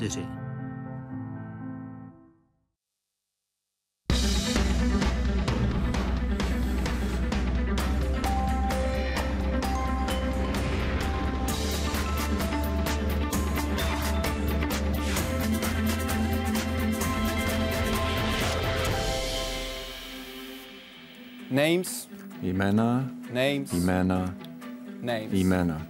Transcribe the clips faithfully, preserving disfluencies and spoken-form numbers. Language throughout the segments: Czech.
čtyři. Names. Jména, Names. jména, Names. jména.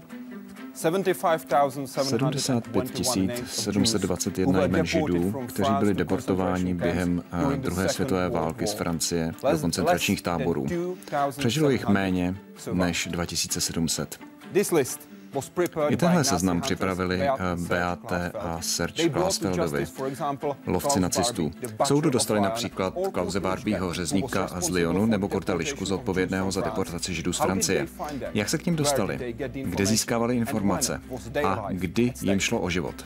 sedmdesát pět tisíc sedm set dvacet jedna jmen Židů, kteří byli deportováni během druhé světové války z Francie do koncentračních táborů. Přežilo jich méně než dva tisíce sedm set. I tenhle seznam připravili Beate a Serge Klarsfeldovi, lovci nacistů. K soudu dostali například Klause Barbieho, řezníka z Lyonu, nebo Kurta Lišku, zodpovědného za deportaci Židů z Francie. Jak se k nim dostali? Kde získávali informace? A kdy jim šlo o život?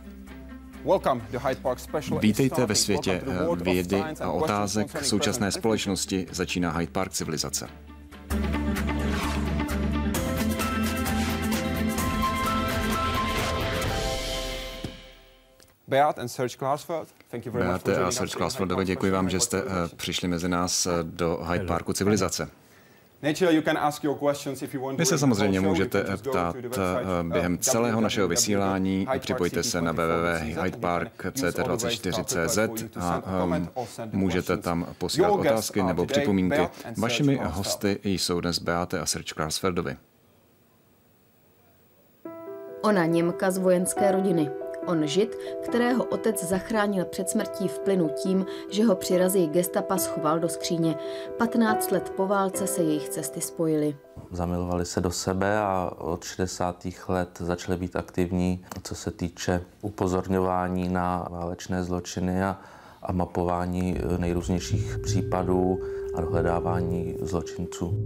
Vítejte ve světě vědy a otázek současné společnosti. Začíná Hyde Park civilizace. Beate a Serge Klarsfeldovi, děkuji vám, že jste uh, přišli mezi nás uh, do Hyde Parku civilizace. Vy se samozřejmě můžete ptát uh, během celého našeho vysílání. Připojte se na w w w tečka hyde park tečka c t dvacet čtyři tečka c z a um, můžete tam posílat otázky nebo připomínky. Vašimi hosty jsou dnes Beate a Serge Klarsfeldovi. Ona Němka z vojenské rodiny. On Žid, kterého otec zachránil před smrtí v plynu tím, že ho při razii gestapa schoval do skříně. patnáct let po válce se jejich cesty spojily. Zamilovali se do sebe a od šedesátých let začali být aktivní, co se týče upozorňování na válečné zločiny a, a mapování nejrůznějších případů a dohledávání zločinců.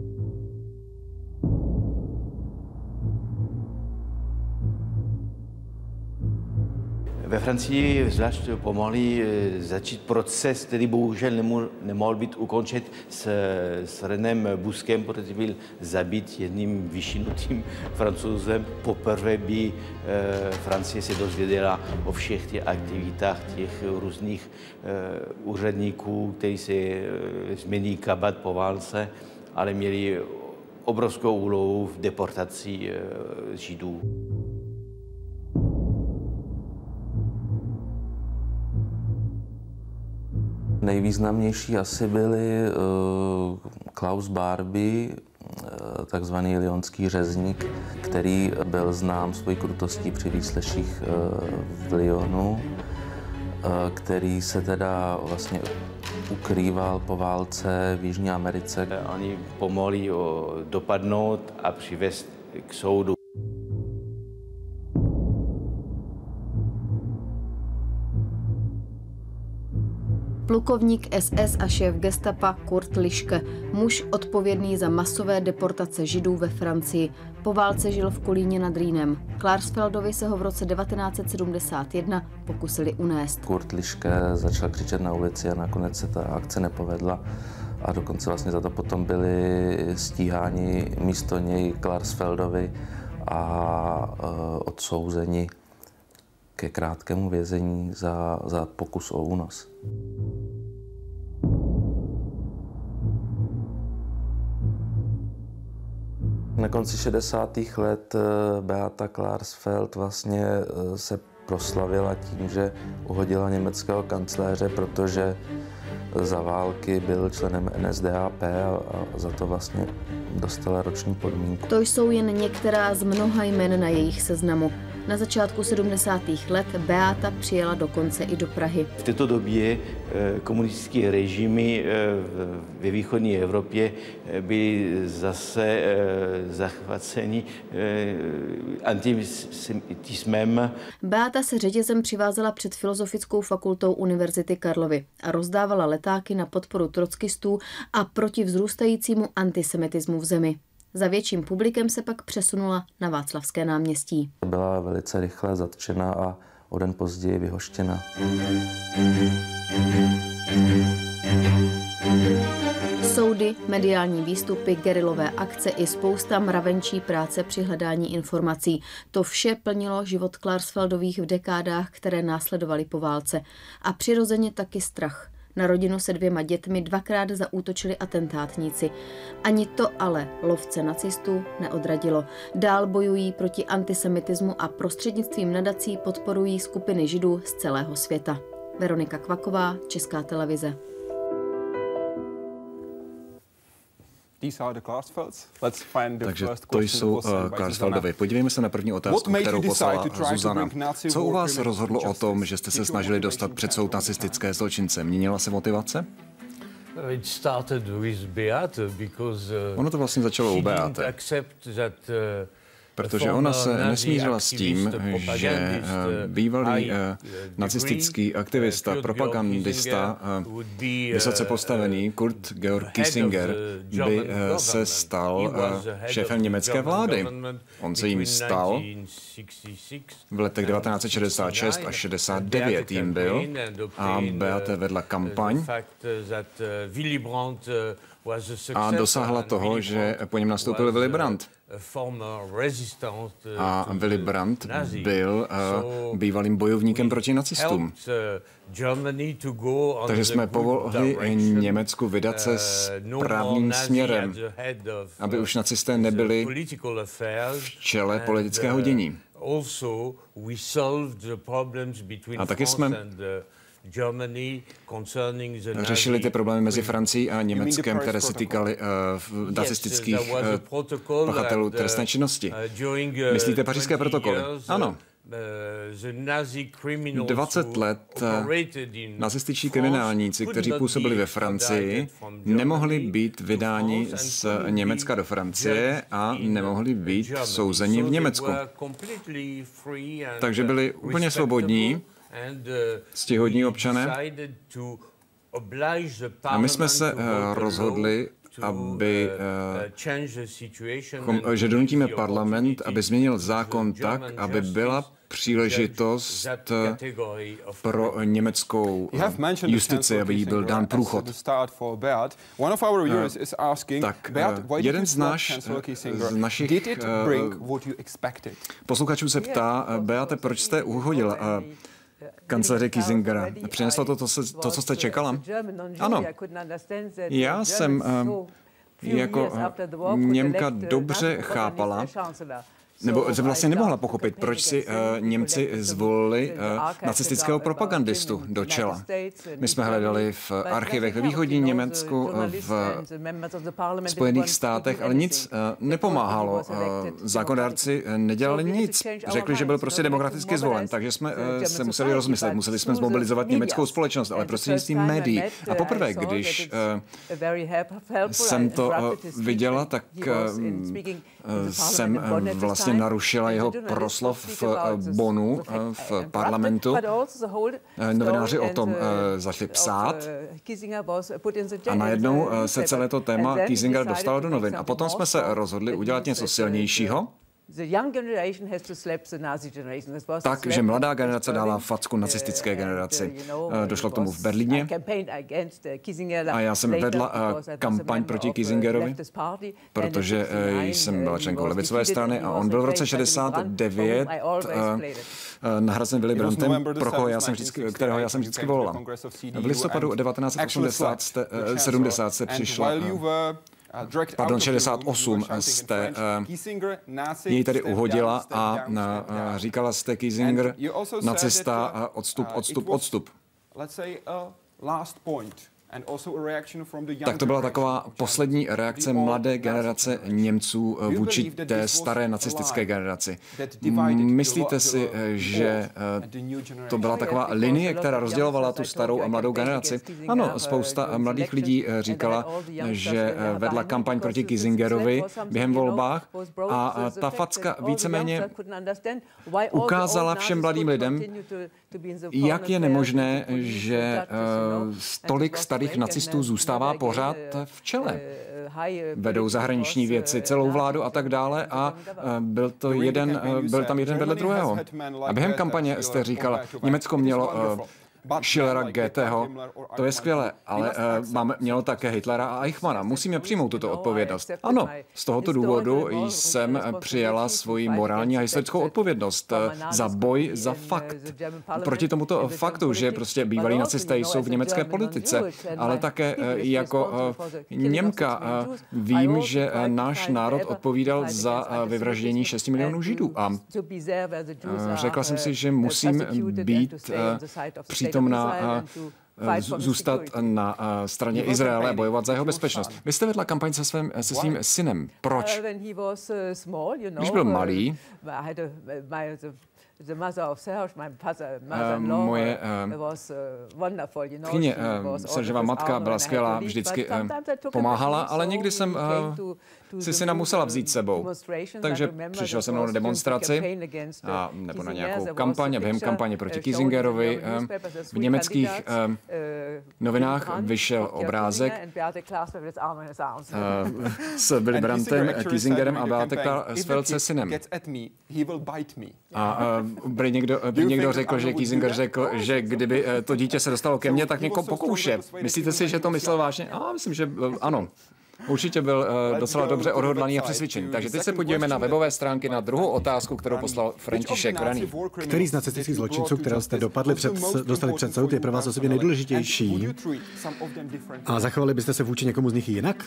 Ve Francii zvlášť pomohli začít proces, který bohužel nemohl být ukončen s, s Renem Busquem, protože byl zabit jedním vyšinutým Francouzem. Poprvé by e, Francie se dozvěděla o všech těch aktivitách těch různých e, úředníků, kteří se e, změní kabát po válce, ale měli obrovskou úlohu v deportaci e, Židů. Nejvýznamnější asi byli uh, Klaus Barbie, uh, takzvaný lyonský řezník, který byl znám svojí krutostí při výsleších uh, v Lyonu, uh, který se teda vlastně ukrýval po válce v Jižní Americe. Oni pomohli ho dopadnout a přivést k soudu. Plukovník S S a šéf gestapa Kurt Liške, muž odpovědný za masové deportace Židů ve Francii. Po válce žil v Kolíně nad Rýnem. Klarsfeldovi se ho v roce devatenáct set sedmdesát jedna pokusili unést. Kurt Liške začal křičet na ulici a nakonec se ta akce nepovedla a dokonce vlastně za to potom byli stíháni místo něj Klarsfeldovi a uh, odsouzeni ke krátkému vězení za, za pokus o únos. Na konci šedesátých let Beata Klarsfeld vlastně se proslavila tím, že uhodila německého kancléře, protože za války byl členem N S D A P a za to vlastně dostala roční podmínku. To jsou jen některá z mnoha jmen na jejich seznamu. Na začátku sedmdesátých let Beata přijela dokonce i do Prahy. V této době komunistické režimy ve východní Evropě byly zase zachvaceni antisemitismem. Beata se řetězem přivázela před Filozofickou fakultou Univerzity Karlovy a rozdávala letáky na podporu trockistů a proti vzrůstajícímu antisemitismu v zemi. Za větším publikem se pak přesunula na Václavské náměstí. Byla velice rychle zatčena a o den později vyhoštěna. Soud soudy, mediální výstupy, gerilové akce i spousta mravenčí práce při hledání informací. To vše plnilo život Klarsfeldových v dekádách, které následovaly po válce. A přirozeně taky strach. Na rodinu se dvěma dětmi dvakrát zaútočili atentátníci. Ani to ale lovce nacistů neodradilo. Dál bojují proti antisemitismu a prostřednictvím nadací podporují skupiny židů z celého světa. Veronika Kvaková, Česká televize. Takže to jsou uh, Klarsfeldovi. Podívejme se na první otázku, kterou poslala Zuzana. Co u vás rozhodlo o tom, že jste se snažili dostat před soud nacistické zločince? Měnila se motivace? Ono to vlastně začalo u Beate. Protože ona se nesmířila s tím, že bývalý nacistický aktivista, propagandista, vysoce postavený Kurt Georg Kissinger by se stal šéfem německé vlády. On se jim stal v letech devatenáct set šedesát šest až šedesát devět jim byl a Beate vedla kampaň a dosáhla toho, že po něm nastoupil Willy Brandt. A Willy Brandt byl uh, bývalým bojovníkem proti nacistům. Takže jsme pomohli Německu vydat se správným směrem, aby už nacisté nebyli v čele politického dění. A taky jsme řešili ty problémy mezi Francií a Německem, které se týkaly uh, nacistických uh, pachatelů trestné činnosti. Myslíte pařížské protokoly? Ano. dvacet let nacističtí kriminálníci, kteří působili ve Francii, nemohli být vydáni z Německa do Francie a nemohli být souzeni v Německu. Takže byli úplně svobodní, ctihodní občané. A my jsme se uh, rozhodli, aby, uh, že donutíme parlament, aby změnil zákon tak, aby byla příležitost pro německou justici, aby jí byl dán průchod. Tak jeden z, naš, z našich posluchačů se ptá, Beate, proč jste uhodila kancléře Kissingera? Přineslo to to, to, co jste čekala? Ano. Já jsem jako Němka dobře chápala, nebo se vlastně nemohla pochopit, proč si uh, Němci zvolili uh, nacistického propagandistu do čela. My jsme hledali v archivech ve východním Německu, v Spojených státech, ale nic uh, nepomáhalo. Uh, zákonodárci nedělali nic. Řekli, že byl prostě demokraticky zvolen, takže jsme uh, se museli rozmyslet. Museli jsme zmobilizovat německou společnost, ale prostřednictvím médií. A poprvé, když uh, jsem to uh, viděla, tak uh, jsem uh, vlastně narušila jeho proslov v Bonnu, v parlamentu. Novináři o tom začali psát a najednou se celé to téma Kissinger dostalo do novin. A potom jsme se rozhodli udělat něco silnějšího, tak, že mladá generace dává facku nacistické generaci. Došlo k tomu v Berlíně a já jsem vedla kampaň proti Kissingerovi, protože jsem byla členkou levicové strany a on byl v roce šedesát devět nahrazen Willy Brandtem, pro koho já jsem vždycky, kterého já jsem vždycky volala. V listopadu devatenáct set sedmdesát se přišla Pardon, šedesát osm jste uh, jej tady uhodila a uh, říkala jste Kissinger, nacista, uh, odstup, odstup, odstup. Tak to byla taková poslední reakce mladé generace Němců vůči té staré nacistické generaci. Myslíte si, že to byla taková linie, která rozdělovala tu starou a mladou generaci? Ano, spousta mladých lidí říkala, že vedla kampaň proti Kissingerovi během volbách a ta facka víceméně ukázala všem mladým lidem, jak je nemožné, že uh, tolik starých nacistů zůstává pořád v čele. Vedou zahraniční věci, celou vládu a tak dále a uh, byl, to jeden, uh, byl tam jeden vedle druhého. A během kampaně jste říkala, Německo mělo uh, Schillera, Goetheho, to je skvělé, ale uh, máme, mělo také Hitlera a Eichmanna. Musíme přijmout tuto odpovědnost. Ano, z tohoto důvodu jsem přijala svoji morální a historickou odpovědnost za boj za fakt. Proti tomuto faktu, že prostě bývalí nacisté jsou v německé politice, ale také jako Němka vím, že náš národ odpovídal za vyvraždění šesti milionů Židů a řekla jsem si, že musím být přítomná zůstat na straně Izraele a bojovat za jeho bezpečnost. Vy jste vedla kampaň se, svým, se svým synem. Proč? Když byl malý, Uh, moje uh, tchyně, uh, Seržova matka byla skvělá, vždycky uh, pomáhala, ale někdy jsem uh, si syna musela vzít sebou. Takže přišel se mnou na demonstraci a, nebo na nějakou kampaň a během kampaně proti Kissingerovi uh, v německých uh, novinách vyšel obrázek uh, s Willy Brandtem, Kissingerem a Beate Klarsfeld se synem. A uh, byl někdo, by někdo řekl, že Kissinger řekl, že kdyby to dítě se dostalo ke mně, tak někoho pokouše. Myslíte si, že to myslel vážně? A myslím, že ano. Určitě byl uh, docela dobře odhodlaný a přesvědčený. Takže teď se podívejme na webové stránky na druhou otázku, kterou poslal František Vraný. Který z nacistických zločinců, které jste dopadli před, dostali před soud, je pro vás osobně nejdůležitější? A zachovali byste se vůči někomu z nich jinak?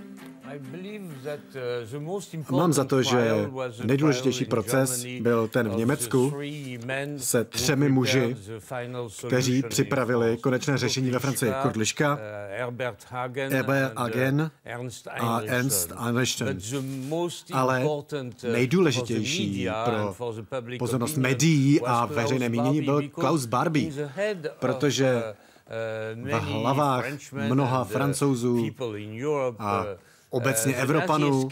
Mám za to, že nejdůležitější proces byl ten v Německu se třemi muži, kteří připravili konečné řešení ve Francii. Kurt Lischka, Herbert Hagen a Ernst Einstein. Ale nejdůležitější pro pozornost médií a veřejné mínění byl Klaus Barbie, protože v hlavách mnoha Francouzů a obecně Evropanů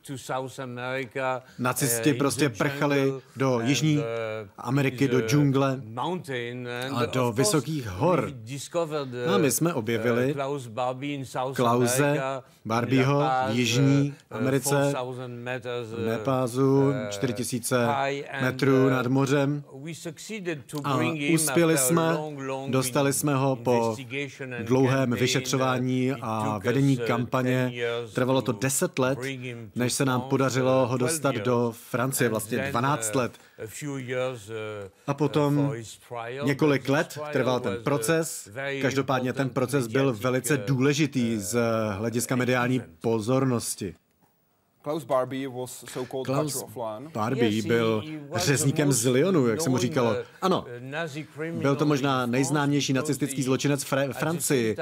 nacisti prostě prchali do Jižní Ameriky, do džungle a do vysokých hor. A my jsme objevili Klause Barbieho v Jižní Americe, v Nepázu, čtyři tisíce metrů nad mořem. A uspěli jsme, dostali jsme ho po dlouhém vyšetřování a vedení kampaně. Trvalo to deset let, než se nám podařilo ho dostat do Francie, vlastně dvanáct let. A potom několik let trval ten proces. Každopádně ten proces byl velice důležitý z hlediska mediální pozornosti. Klaus Barbie was so-called Klaus Barbie byl řezníkem z Lyonu, jak se mu říkalo. Ano, byl to možná nejznámější nacistický zločinec v Fra- Francii.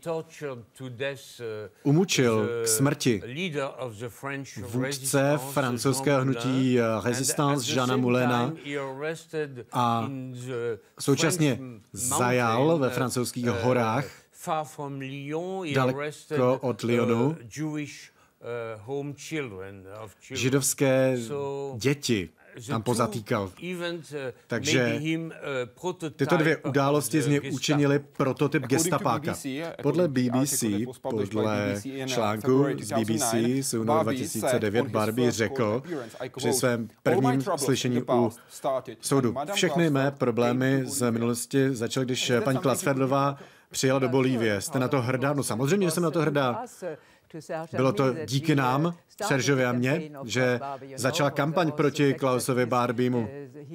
Umučil k smrti vůdce francouzského hnutí Resistance Jeana Moulina a současně zajal ve francouzských horách daleko od Lyonu židovské děti tam pozatýkal. Takže tyto dvě události z něj učinily prototyp gestapáka. Podle B B C, podle článku z B B C z února dva tisíce devět Barbie řekl při svém prvním slyšení u soudu: všechny mé problémy z minulosti začaly, když paní Klarsfeldová přijela do Bolívie. Jste na to hrdá? No samozřejmě, že jsem na to hrdá. Bylo to díky nám, Seržovi a mně, že začala kampaň proti Klausovi Barbiemu.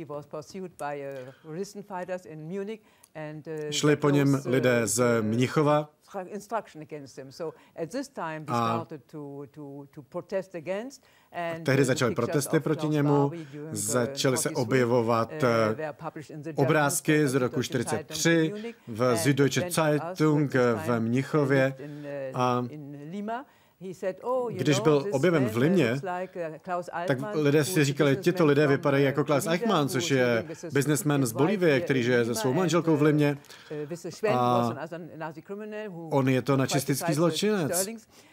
Šli po něm lidé z Mnichova a tehdy začaly protesty proti němu, začaly se objevovat obrázky z roku čtyřicet tři v Süddeutsche Zeitung v Mnichově a když byl objeven v Limě, tak lidé si říkali, tito lidé vypadají jako Klaus Eichmann, což je biznesmen z Bolívie, který žije se svou manželkou v Limě. A on je to nacistický zločinec.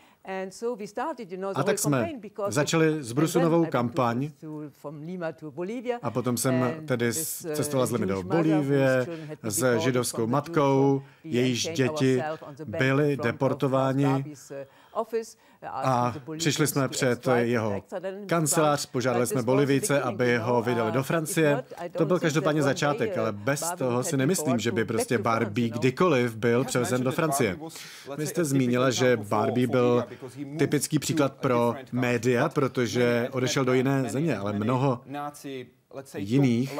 A tak jsme začali z Brusu novou kampaň a potom jsem tedy cestovala z Limy do Bolívie s židovskou matkou, jejíž děti byly deportováni A přišli jsme před jeho kancelář, požádali jsme Bolivijce, aby ho vydali do Francie. To byl každopádně začátek, ale bez toho si nemyslím, že by prostě Barbie kdykoliv byl převezen do Francie. Vy jste zmínila, že Barbie byl typický příklad pro média, protože odešel do jiné země, ale mnoho jiných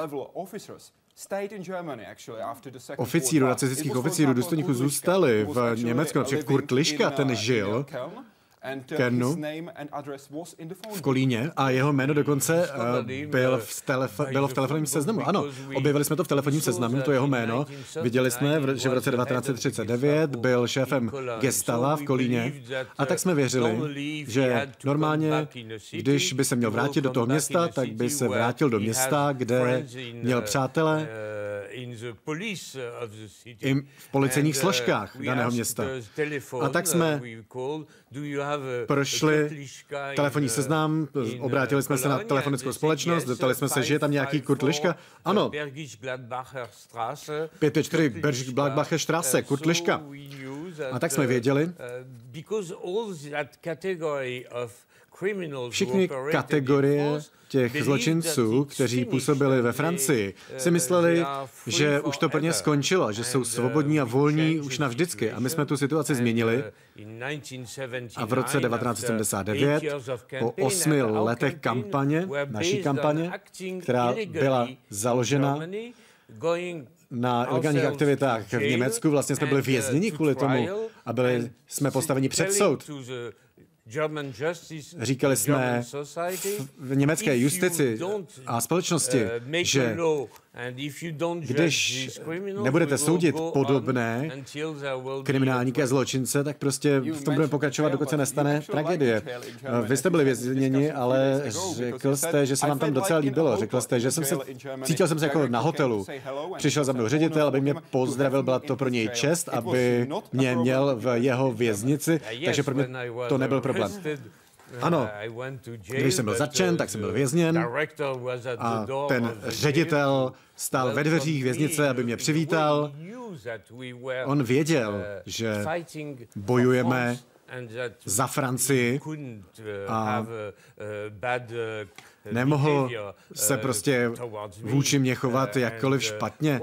oficírů, nacistických oficírů, důstojníků zůstali v Německu. Například Kurt Lischka, ten žil v Kernu, v Kolíně a jeho jméno dokonce uh, byl v telefo- bylo v telefonním seznamu. Ano, objevili jsme to v telefonním seznamu, to jeho jméno. Viděli jsme, že v roce devatenáct set třicet devět byl šéfem Gestava v Kolíně a tak jsme věřili, že normálně, když by se měl vrátit do toho města, tak by se vrátil do města, kde měl přátele i v policejních složkách daného města. A tak jsme prošli telefonní seznam, obrátili jsme se na telefonickou společnost, zeptali jsme se, že je tam nějaký Kurt Lischka. Ano, pět pět čtyři Bergisch-Gladbacher Straße, Kurt Lischka. A tak jsme věděli, všechny kategorie těch zločinců, kteří působili ve Francii, si mysleli, že už to pro ně skončilo, že jsou svobodní a volní už navždycky. A my jsme tu situaci změnili a v roce devatenáct set sedmdesát devět, po osmi letech kampaně, naší kampaně, která byla založena na ilegálních aktivitách v Německu, vlastně jsme byli vězněni kvůli tomu a byli jsme postaveni před soud. Říkali jsme v německé justici a společnosti, že když nebudete soudit podobné kriminálníky a zločince, tak prostě v tom budeme pokračovat, dokud se nestane tragédie. Vy jste byli vězněni, ale řekl jste, že se vám tam docela líbilo. Řekl jste, že jsem se, cítil jsem se jako na hotelu. Přišel za mnou ředitel, aby mě pozdravil, byla to pro něj čest, aby mě měl v jeho věznici, takže pro mě to nebyl problém. Ano, když jsem byl zatčen, tak jsem byl vězněn a ten ředitel stál ve dveřích věznice, aby mě přivítal. On věděl, že bojujeme za Francii a nemohl se prostě vůči mě chovat jakkoliv špatně.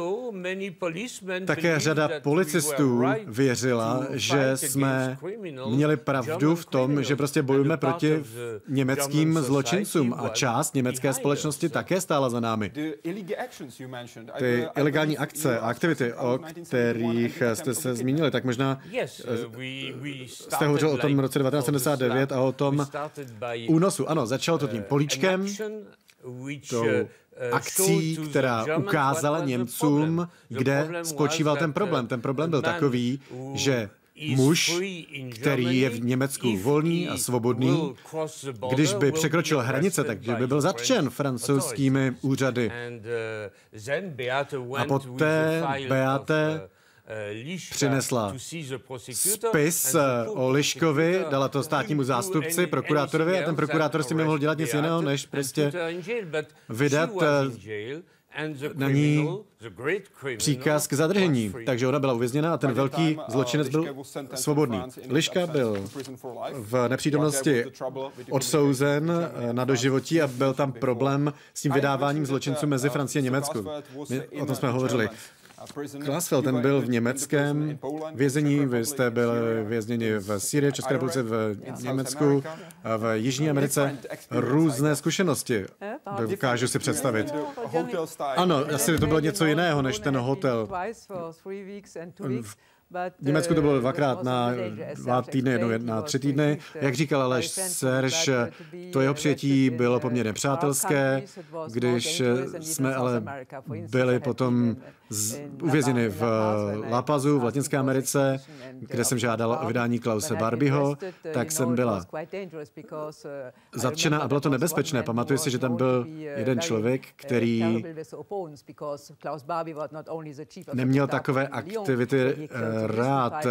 Také řada policistů věřila, že jsme měli pravdu v tom, že prostě bojujeme proti německým zločincům a část německé společnosti také stála za námi. Ty ilegální akce a aktivity, o kterých jste se zmínili, tak možná jste hovořil o tom roce devatenáct set sedmdesát devět a o tom únosu. Ano, začalo to tím políčkem, tou akcí, která ukázala Němcům, kde spočíval ten problém. Ten problém byl takový, že muž, který je v Německu volný a svobodný, když by překročil hranice, tak by byl zatčen francouzskými úřady. A poté Beate přinesla spis o Liškovi, dala to státnímu zástupci, prokurátorovi a ten prokurátor si nemohl dělat nic jiného, než prostě vydat na ní příkaz k zadržení. Takže ona byla uvězněna a ten velký zločinec byl svobodný. Liška byl v nepřítomnosti odsouzen na doživotí a byl tam problém s tím vydáváním zločinců mezi Francií a Německou. My o tom jsme hovořili. Klasfeld, ten byl v německém vězení, vy jste byli vězněni v Sýrii, v České republice, v Německu, v Jižní Americe. Různé zkušenosti, dokážu si představit. Ano, asi to bylo něco jiného než ten hotel. V Německu to bylo dvakrát na dva týdny, jednou na tři týdny. Jak říkal Aleš Serge, to jeho přijetí bylo poměrně přátelské, když jsme ale byli potom z, uvězněni v La Pazu v Latinské Americe, kde jsem žádal o vydání Klause Barbieho, tak jsem byla zatčena a bylo to nebezpečné. Pamatuju si, že tam byl byl jeden člověk, který neměl takové aktivity rád.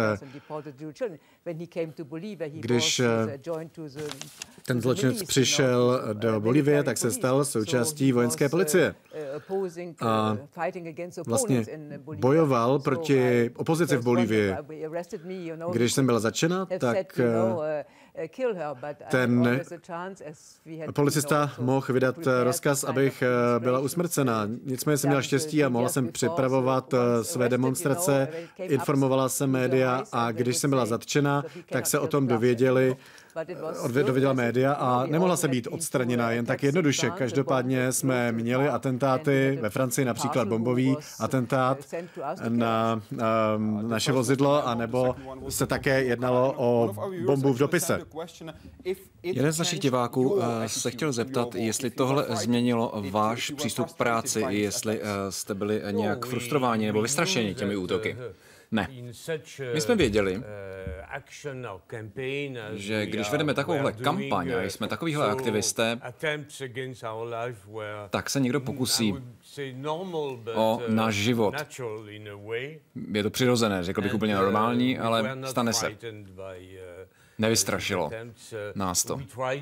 Když ten zločinec přišel do Bolívie, tak se stal součástí vojenské policie. A vlastně bojoval proti opozici v Bolívii. Když jsem byla zatčena, tak ten policista mohl vydat rozkaz, abych byla usmrcena. Nicméně jsem měla štěstí a mohla jsem připravovat své demonstrace, informovala jsem média a když jsem byla zatčena, tak se o tom dověděli, dověděla média a nemohla se být odstraněna jen tak jednoduše. Každopádně jsme měli atentáty ve Francii, například bombový atentát na um, naše vozidlo, anebo se také jednalo o bombu v dopise. Jeden z našich diváků uh, se chtěl zeptat, jestli tohle změnilo váš přístup k práci, jestli uh, jste byli nějak frustrováni nebo vystrašeni těmi útoky. Ne. My jsme věděli, že když vedeme takovouhle kampaň a jsme takovýhle aktivisté, tak se někdo pokusí o náš život. Je to přirozené, řekl bych úplně normální, ale stane se. Nevystrašilo nás to.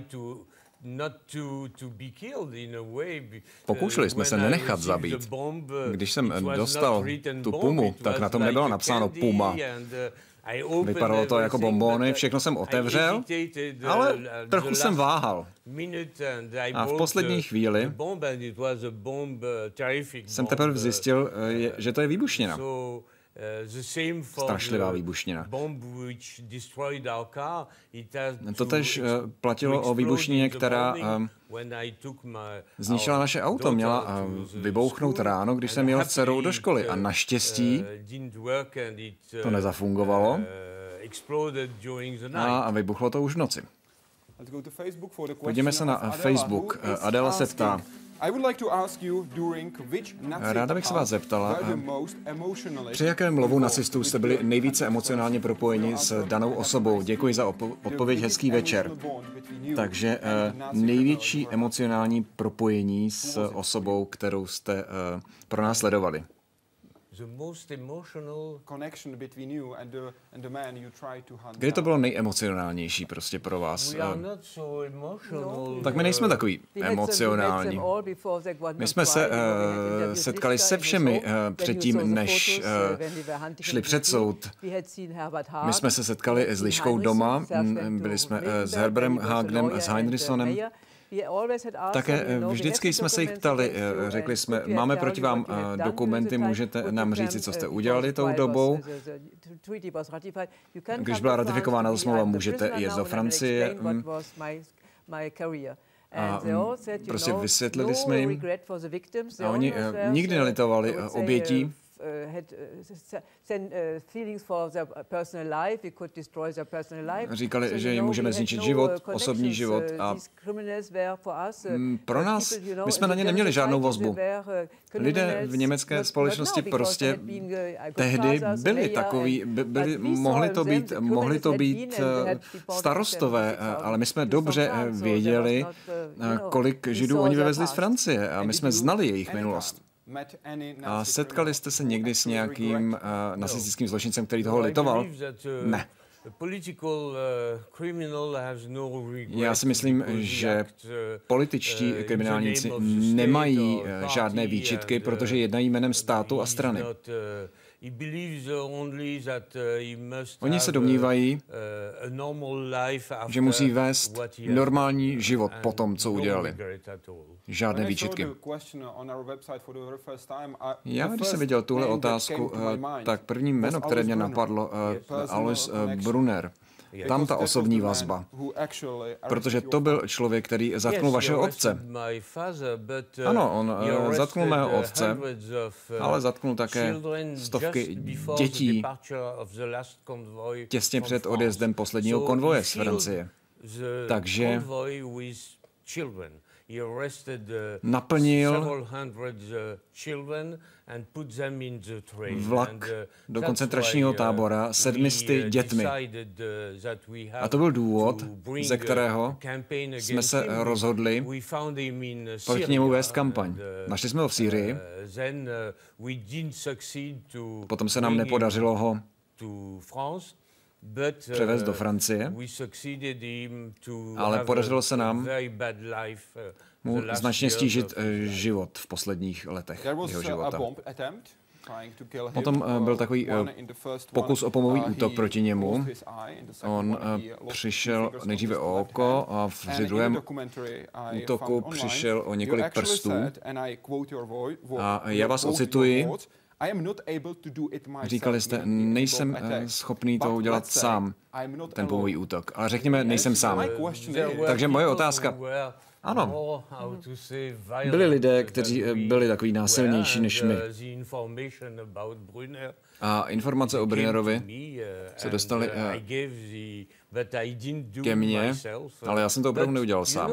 Pokoušeli jsme se nenechat zabít. Když jsem dostal tu pumu, tak na tom nebylo napsáno Puma. Vypadalo to jako bonbony, všechno jsem otevřel, ale trochu jsem váhal. A v poslední chvíli jsem teprve zjistil, že to je výbušnina. Strašlivá výbušnina. Totež platilo o výbušnině, která zničila naše auto. Měla vybouchnout ráno, když jsem jel s dcerou do školy. A naštěstí to nezafungovalo a vybuchlo to už v noci. Podívejme se na Facebook. Adela se ptá, ráda bych se vás zeptala, při jakém lovu nacistů jste byli nejvíce emocionálně propojeni s danou osobou? Děkuji za odpověď, hezký večer. Takže největší emocionální propojení s osobou, kterou jste pro nás sledovali. Kdy to bylo nejemocionálnější prostě pro vás? Tak my nejsme takový emocionální. My jsme se uh, setkali se všemi uh, předtím, než uh, šli před soud. My jsme se setkali s Liškou doma, byli jsme uh, s Herberem Hagnem, s Heinrichsonem. Také vždycky jsme se jich ptali, řekli jsme, máme proti vám dokumenty, můžete nám říci, co jste udělali tou dobou. Když byla ratifikována smlouva, můžete jet do Francie. A prostě vysvětlili jsme jim. A oni nikdy nelitovali obětí. Říkali, že jim můžeme zničit život, osobní život a pro nás, my jsme na ně neměli žádnou vazbu. Lidé v německé společnosti prostě tehdy byli takový, byli, mohli to být, mohli to být starostové, ale my jsme dobře věděli, kolik Židů oni vyvezli z Francie a my jsme znali jejich minulost. A setkali jste se někdy s nějakým uh, nacistickým zločincem, který toho litoval? Ne. Já si myslím, že političtí kriminálníci nemají žádné výčitky, protože jednají jménem státu a strany. Oni se domnívají, že musí vést normální život po tom, co udělali. Žádné výčitky. Já, když jsem viděl tuhle otázku, tak první jméno, které mě napadlo, Alois Brunner. Tam ta osobní vazba. Protože to byl člověk, který zatknul vašeho otce. Ano, on zatknul mého otce, ale zatknul také stovky dětí těsně před odjezdem posledního konvoje z Francie. Takže naplnil vlak do koncentračního tábora sedmisty dětmi. A to byl důvod, ze kterého jsme se rozhodli proti němu vést kampaň. Našli jsme ho v Sýrii, potom se nám nepodařilo ho převést do Francie, ale podařilo se nám mu značně stížit život v posledních letech jeho života. Potom byl takový pokus o pomový útok proti němu. On přišel nejdříve o oko a při druhém útoku přišel o několik prstů. A já vás ocituji. Říkali jste, nejsem schopný to udělat sám, ten pomový útok. Ale řekněme, nejsem sám. Takže moje otázka. Ano. Byli lidé, kteří byli takový násilnější než my. A informace o Brunnerovi se dostaly ke mně, ale já jsem to opravdu neudělal sám.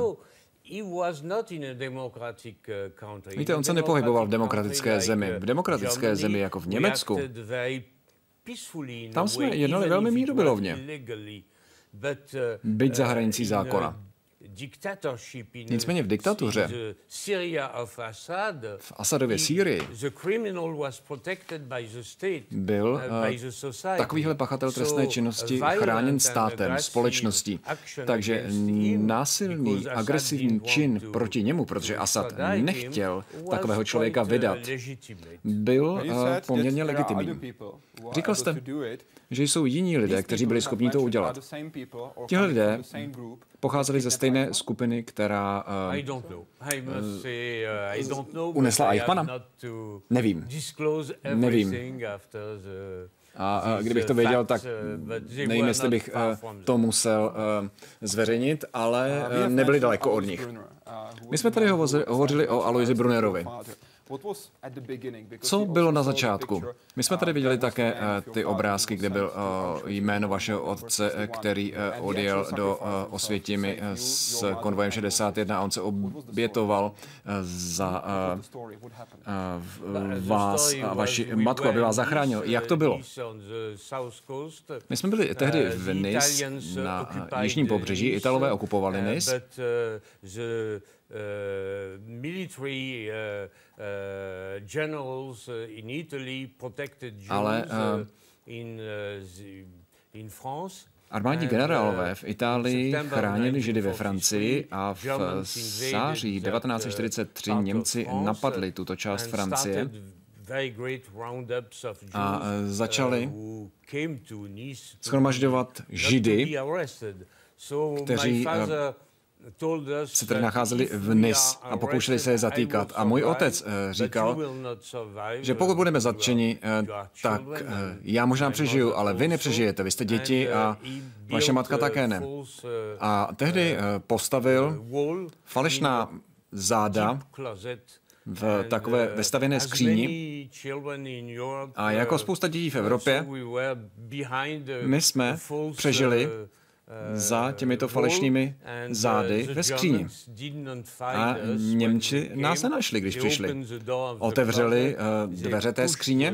Víte, on se nepohyboval v demokratické zemi. V demokratické zemi jako v Německu. Tam jsme jednali velmi mírumilovně. Byť za hranicí zákona. Nicméně v diktatuře, v Asadově Sýrii, byl takovýhle pachatel trestné činnosti chráněn státem, společností. Takže násilný, agresivní čin proti němu, protože Asad nechtěl takového člověka vydat, byl poměrně legitimní. Říkal jste, že jsou jiní lidé, kteří byli schopni to udělat. Tihle lidé pocházeli ze stejné skupiny, která uh, unesla Eichmanna? Nevím. Nevím. A, a kdybych to věděl, tak nevím, jestli bych uh, to musel uh, zveřejnit, ale uh, nebyli daleko od nich. My jsme tady hovořili, hovořili o Aloisi Brunnerovi. Co bylo na začátku? My jsme tady viděli také uh, ty obrázky, kde byl uh, jméno vašeho otce, který uh, odjel do uh, Osvětimi uh, s konvojem šedesát jedna a on se obětoval uh, za uh, uh, vás a vaši matku, aby vás zachránil. Jak to bylo? My jsme byli tehdy v Nice na uh, jižním pobřeží, Italové okupovali Nice. Uh, military uh, uh, generals in Italy protected Jews Ale, uh, in, uh, in France. Armádní generálové v Itálii chránili Židy ve Francii a v září devatenáct set čtyřicet tři Němci napadli tuto část Francie a začali shromažďovat Židy, kteří se tedy nacházeli v Nice a pokoušeli se je zatýkat. A můj otec říkal, že pokud budeme zatčeni, tak já možná přežiju, ale vy nepřežijete, vy jste děti a vaše matka také ne. A tehdy postavil falešná záda v takové vestavěné skříni a jako spousta dětí v Evropě my jsme přežili za těmito falešnými zády ve skříni. A Němči nás nenašli, když přišli. Otevřeli uh, dveře té skříně,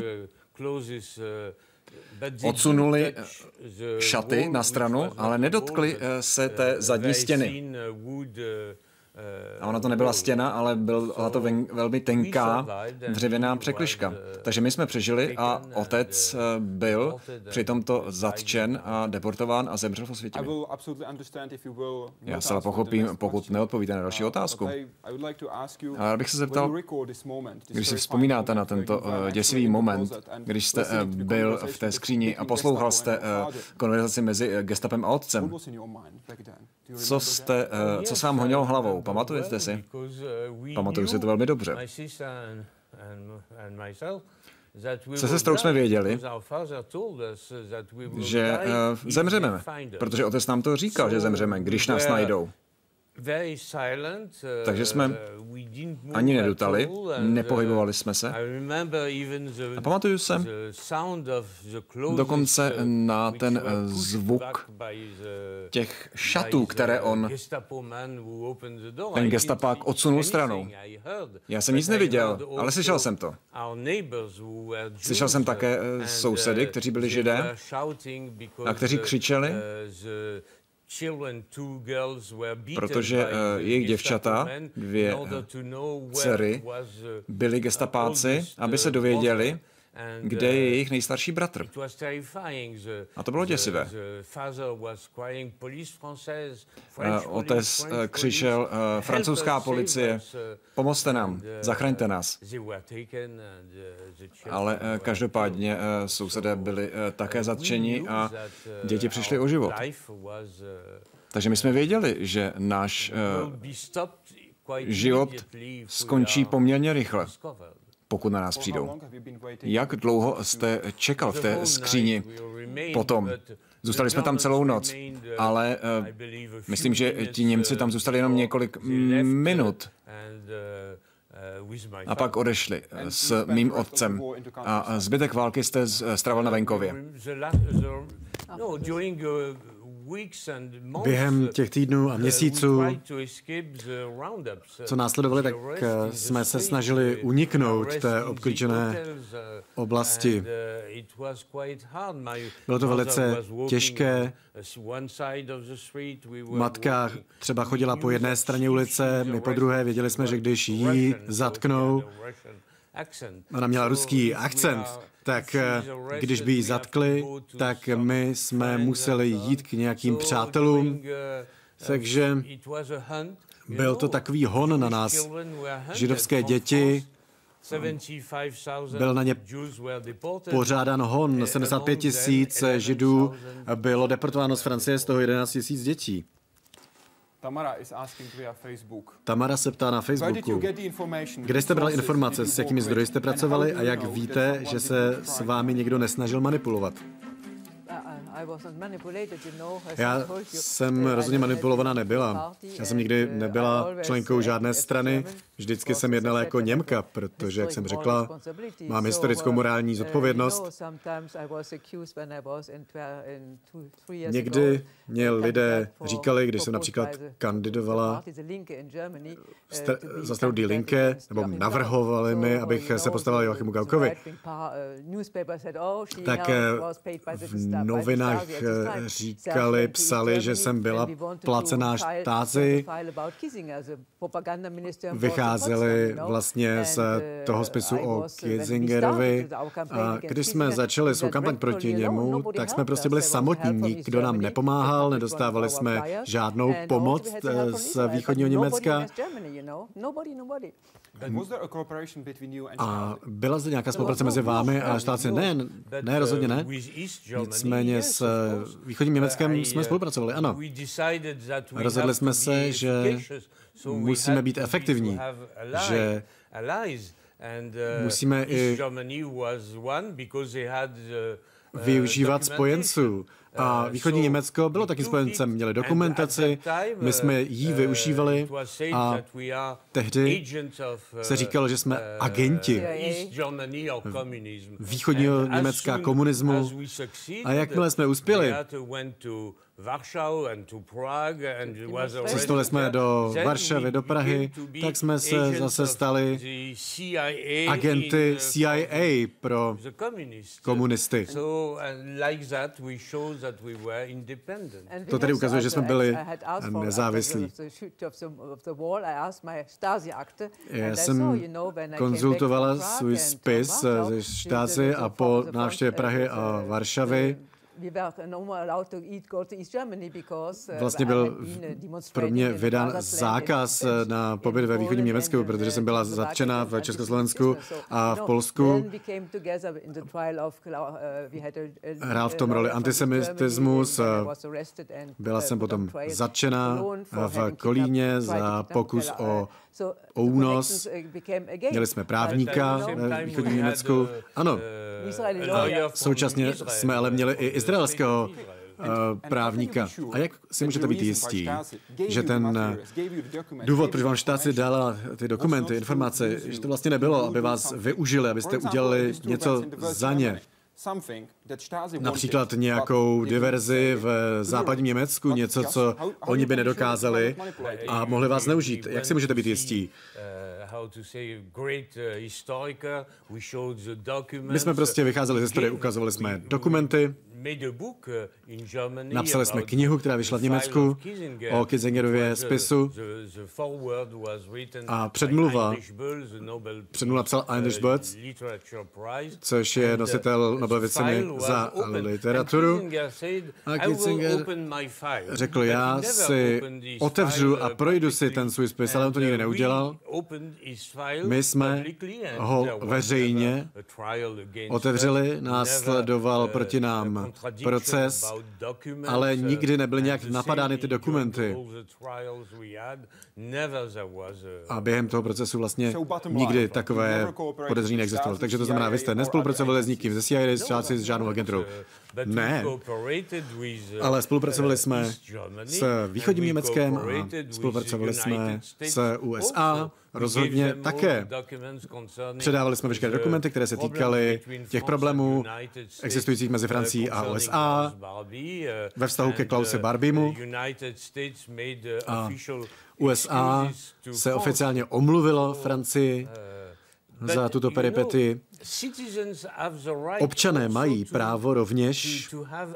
odsunuli šaty na stranu, ale nedotkli uh, se té zadní stěny. A ona to nebyla stěna, ale byla to ven, velmi tenká dřevěná překližka. Takže my jsme přežili a otec byl při tomto zatčen a deportován a zemřel v Osvětimi. Já se pochopím, pokud neodpovíte na další otázku. Ale já bych se zeptal, když si vzpomínáte na tento uh, děsivý moment, když jste uh, byl v té skříni a poslouchal jste uh, konverzaci mezi gestapem a otcem, co jste, uh, co se vám honilo hlavou? Pamatujete si? Pamatuju si to velmi dobře. Se sestrou jsme věděli, že uh, zemřeme, protože otec nám to říkal, že zemřeme, když nás najdou. Takže jsme ani nedutali, nepohybovali jsme se. A pamatuju se dokonce na ten zvuk těch šatů, které on, ten gestapák, odsunul stranou. Já jsem nic neviděl, ale slyšel jsem to. Slyšel jsem také sousedy, kteří byli Židé a kteří křičeli, protože jejich děvčata, dvě dcery, byli gestapáci, aby se dověděli, kde je jejich nejstarší bratr. A to bylo děsivé. Otec křičel, francouzská policie, pomozte nám, zachraňte nás. Ale každopádně sousedé byli také zatčeni a děti přišly o život. Takže my jsme věděli, že náš život skončí poměrně rychle, pokud na nás přijdou. Jak dlouho jste čekal v té skříni potom? Zůstali jsme tam celou noc, ale uh, myslím, že ti Němci tam zůstali jenom několik minut a pak odešli s mým otcem. A zbytek války jste strávil na venkově. Během těch týdnů a měsíců, co následovali, tak jsme se snažili uniknout té obklíčené oblasti. Bylo to velice těžké. Matka třeba chodila po jedné straně ulice, my po druhé. Věděli jsme, že když jí zatknou, ona měla ruský akcent, tak když by ji zatkli, tak my jsme museli jít k nějakým přátelům. Takže byl to takový hon na nás. Židovské děti, byl na ně pořádán hon. sedmdesát pět tisíc Židů bylo deportováno z Francie, z toho jedenáct tisíc dětí. Tamara se ptá na Facebooku, kde jste brali informace, s jakými zdroji jste pracovali a jak víte, že se s vámi někdo nesnažil manipulovat? Já jsem rozhodně manipulovaná nebyla. Já jsem nikdy nebyla členkou žádné strany. Vždycky jsem jednala jako Němka, protože, jak jsem řekla, mám historickou morální zodpovědnost. Někdy mě lidé říkali, když jsem například kandidovala za stranu Die Linke, nebo navrhovali mi, abych se postavila Joachimu Gaukovi, tak v novinách říkali, psali, že jsem byla placená štáci, vycházeli vlastně z toho spisu o Kissingerovi a když jsme začali svou kampaň proti němu, tak jsme prostě byli samotní, nikdo nám nepomáhal, nedostávali jsme žádnou pomoc z východního Německa. A byla zde nějaká spolupráce mezi vámi a štáci? Ne, ne, rozhodně ne. Nicméně s východním Německem jsme spolupracovali, ano. Rozhodli jsme se, že musíme být efektivní, že musíme i využívat spojenců. A východní Německo bylo taky spojencem, měli dokumentaci, my jsme ji využívali a tehdy se říkalo, že jsme agenti východního Německa komunismu a jakmile jsme uspěli, cestovali jsme do Varšavy, do Prahy, tak jsme se zase stali agenty C I A pro komunisty. To tedy ukazuje, že jsme byli nezávislí. Já jsem konzultovala svůj spis ze Stasi a po návštěvě Prahy a Varšavy vlastně byl pro mě vydán zákaz na pobyt ve východním Německu, protože jsem byla zatčena v Československu a v Polsku. Hrál v tom roli antisemitismus. Byla jsem potom zatčena v Kolíně za pokus o o únos. Měli jsme právníka ve východním Německu. Ano. A současně jsme ale měli i izraelského právníka. A jak si můžete být jistí, že ten důvod, proč vám Štáci dala ty dokumenty, informace, že to vlastně nebylo, aby vás využili, abyste udělali něco za ně? Například nějakou diverzi v západním Německu, něco, co oni by nedokázali a mohli vás zneužít. Jak si můžete být jistí? My jsme prostě vycházeli ze historie, ukazovali jsme dokumenty, napsali jsme knihu, která vyšla v Německu o Kissingerově spisu a předmluva, předmluva psal Heinrich Böll, což je nositel Nobelovy ceny za literaturu. A Kissinger řekl, já si otevřu a projdu si ten svůj spis, ale on to nikdy neudělal. My jsme ho veřejně otevřeli, následoval proti nám proces, ale nikdy nebyly nějak napadány ty dokumenty. A během toho procesu vlastně nikdy takové podezření neexistovalo. Takže to znamená, vy jste nespolupracovali s nikým, ze C I A, s Štáci, s žádnou agenturou. Ne, ale spolupracovali jsme s východním Německem a spolupracovali jsme s U S A, rozhodně také. Předávali jsme veškeré dokumenty, které se týkaly těch problémů existujících mezi Francií a U S A ve vztahu ke Klause Barbiemu. A U S A se oficiálně omluvilo Francii za tuto peripety. Občané mají právo rovněž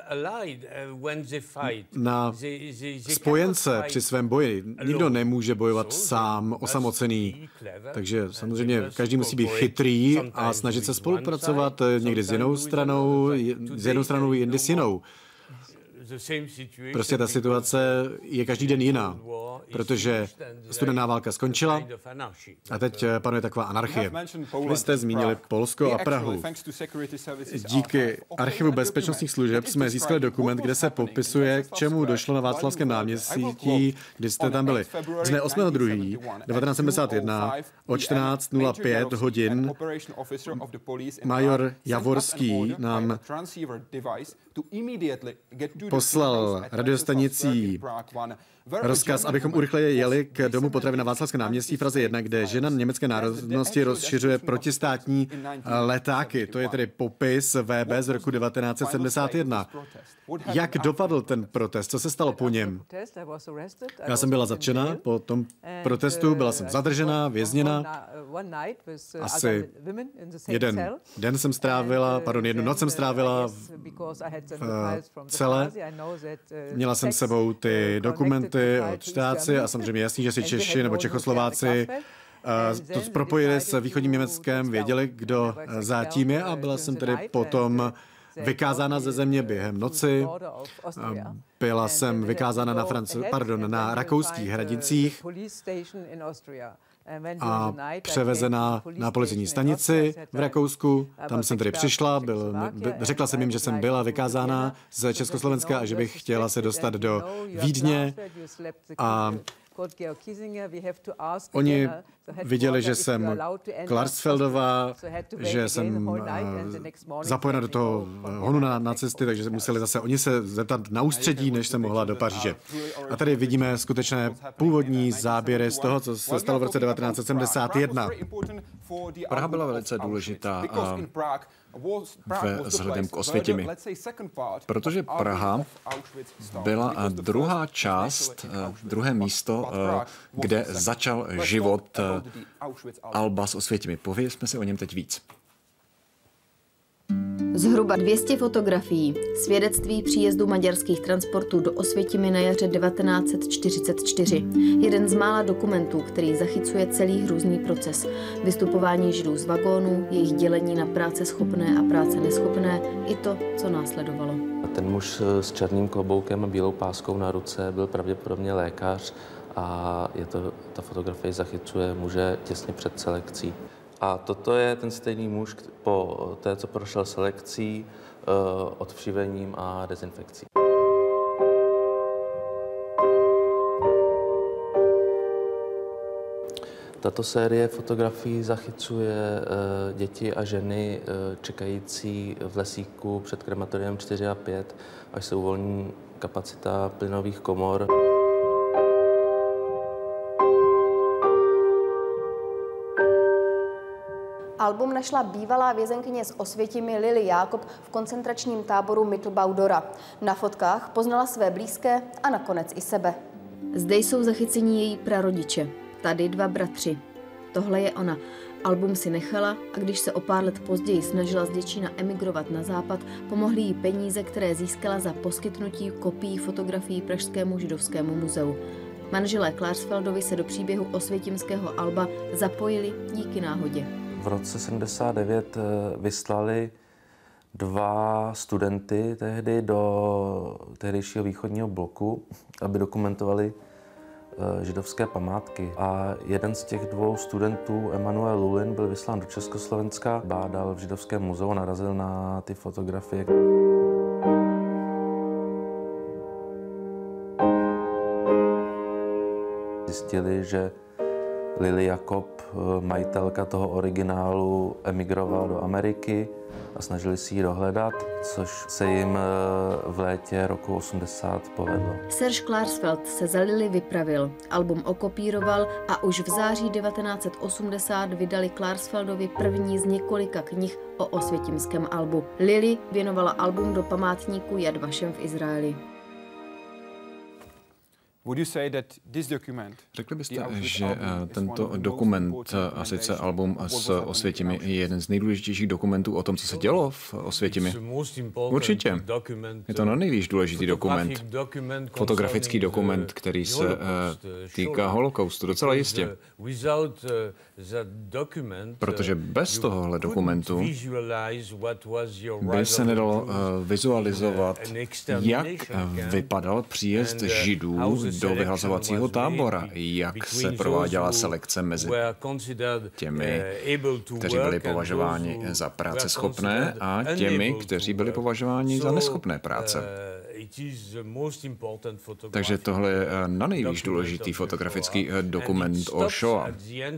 na spojence při svém boji. Nikdo nemůže bojovat sám, osamocený. Takže samozřejmě každý musí být chytrý a snažit se spolupracovat někdy s jinou stranou, s jednou stranou, jindy s jinou. Prostě ta situace je každý den jiná, protože studená válka skončila a teď panuje taková anarchie. Vy jste zmínili Polsko a Prahu. Díky archivu bezpečnostních služeb jsme získali dokument, kde se popisuje, k čemu došlo na Václavském náměstí, kdy jste tam byli. Dne osmého druhého devatenáct sedmdesát jedna o čtrnáct nula pět hodin major Javorský nám poslal radiostanicí rozkaz, abychom urychleji jeli k domu potravy na Václavském náměstí v Praze jedna, kde žena německé národnosti rozšiřuje protistátní letáky. To je tedy popis V B z roku devatenáct set sedmdesát jedna. Jak dopadl ten protest? Co se stalo po něm? Já jsem byla zatčena po tom protestu, byla jsem zadržena, vězněna. Asi jeden den jsem strávila, pardon, jednu noc jsem strávila v, v cele. Měla jsem s sebou ty dokumenty od Štáci a samozřejmě jasný, že si Češi nebo Čechoslováci to propojili s východním Německem, věděli, kdo zatím je a byla jsem tedy potom vykázána ze země během noci. Byla jsem vykázána na, Franc- pardon, na rakouských hranicích a převezena na policejní stanici v Rakousku. Tam jsem tedy přišla, byl, řekla jsem jim, že jsem byla vykázána z Československa a že bych chtěla se dostat do Vídně. A oni viděli, že jsem Klarsfeldová, že jsem uh, zapojena do toho honu na nacisty, takže museli zase oni se zeptat na ústředí, než jsem mohla do Paříže. A tady vidíme skutečné původní záběry z toho, co se stalo v roce devatenáct set sedmdesát jedna. Praha byla velice důležitá a ve vzhledem k Osvětimi, protože Praha byla druhá část, druhé místo, kde začal život Alba s Osvětimi. Povězme si o něm teď víc. Zhruba dvě stě fotografií, svědectví příjezdu maďarských transportů do Osvětimi na jaře devatenáct set čtyřicet čtyři. Jeden z mála dokumentů, který zachycuje celý hrůzný proces. Vystupování Židů z vagónů, jejich dělení na práce schopné a práce neschopné, i to, co následovalo. Ten muž s černým kloboukem a bílou páskou na ruce byl pravděpodobně lékař a je to, ta fotografie zachycuje muže těsně před selekcí. A toto je ten stejný muž po té, co prošel selekcí, odvšivením a dezinfekcí. Tato série fotografií zachycuje děti a ženy čekající v lesíku před krematoriem čtyři a pět, až se uvolní kapacita plynových komor. Album našla bývalá vězenkyně z Osvětimi Lily Jákob v koncentračním táboru Mittelbau-Dora. Na fotkách poznala své blízké a nakonec i sebe. Zde jsou zachycení její prarodiče, tady dva bratři. Tohle je ona. Album si nechala a když se o pár let později snažila z Děčína emigrovat na západ, pomohly jí peníze, které získala za poskytnutí kopií fotografií Pražskému židovskému muzeu. Manželé Klarsfeldovi se do příběhu osvětimského alba zapojili díky náhodě. V roce sedmdesát devět vyslali dva studenty tehdy do tehdejšího východního bloku, aby dokumentovali židovské památky. A jeden z těch dvou studentů, Emanuel Lulin, byl vyslán do Československa, bádal v židovském muzeu a narazil na ty fotografie. Zjistili, že Lily Jakob, majitelka toho originálu, emigrovala do Ameriky a snažili si ji dohledat, což se jim v létě roku osmdesát povedlo. Serge Klarsfeld se za Lily vypravil, album okopíroval a už v září devatenáct set osmdesát vydali Klarsfeldovi první z několika knih o osvětimském albu. Lily věnovala album do památníku Yad Vashem v Izraeli. Řekli byste, že tento dokument, a sice album s Osvětimi, je jeden z nejdůležitějších dokumentů o tom, co se dělo v Osvětimi? Určitě. Je to na nejvíc důležitý dokument. Fotografický dokument, který se týká holokaustu, docela jistě. Protože bez tohohle dokumentu by se nedalo vizualizovat, jak vypadal příjezd Židů do vyhlazovacího tábora, jak se prováděla selekce mezi těmi, kteří byli považováni za práceschopné a těmi, kteří byli považováni za neschopné práce. Takže tohle je na nejvíc důležitý fotografický dokument o Shoah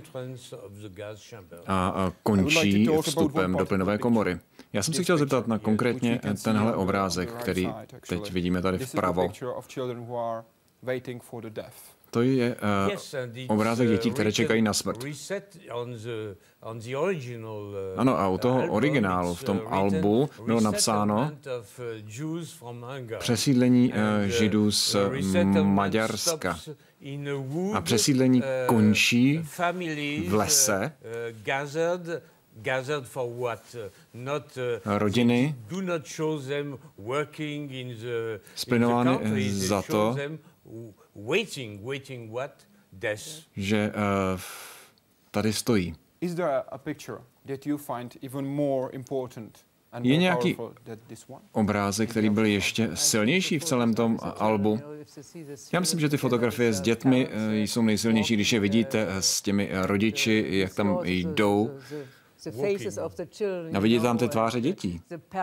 a končí vstupem do plynové komory. Já jsem si chtěl zeptat na konkrétně tenhle obrázek, který teď vidíme tady vpravo. To je uh, obrázek dětí, které čekají na smrt. Ano, a u toho originálu v tom albu bylo napsáno přesídlení uh, Židů z Maďarska. A přesídlení končí v lese. Rodiny splinovány za to, že uh, tady stojí. Je nějaký obrázek, který byl ještě silnější v celém tom albu? Já myslím, že ty fotografie s dětmi jsou nejsilnější, když je vidíte s těmi rodiči, jak tam jdou. A vidíte tam ty tváře dětí.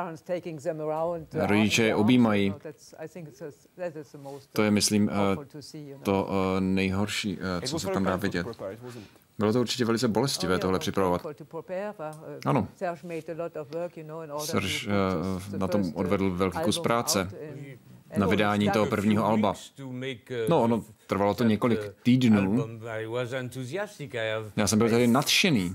Rodiče je objímají. To je, myslím, to nejhorší, co se tam dá vidět. Bylo to určitě velice bolestivé tohle připravovat. Ano. Serge na tom odvedl velký kus práce. Na vydání toho prvního alba. No, ono trvalo to několik týdnů. Já jsem byl tady nadšený.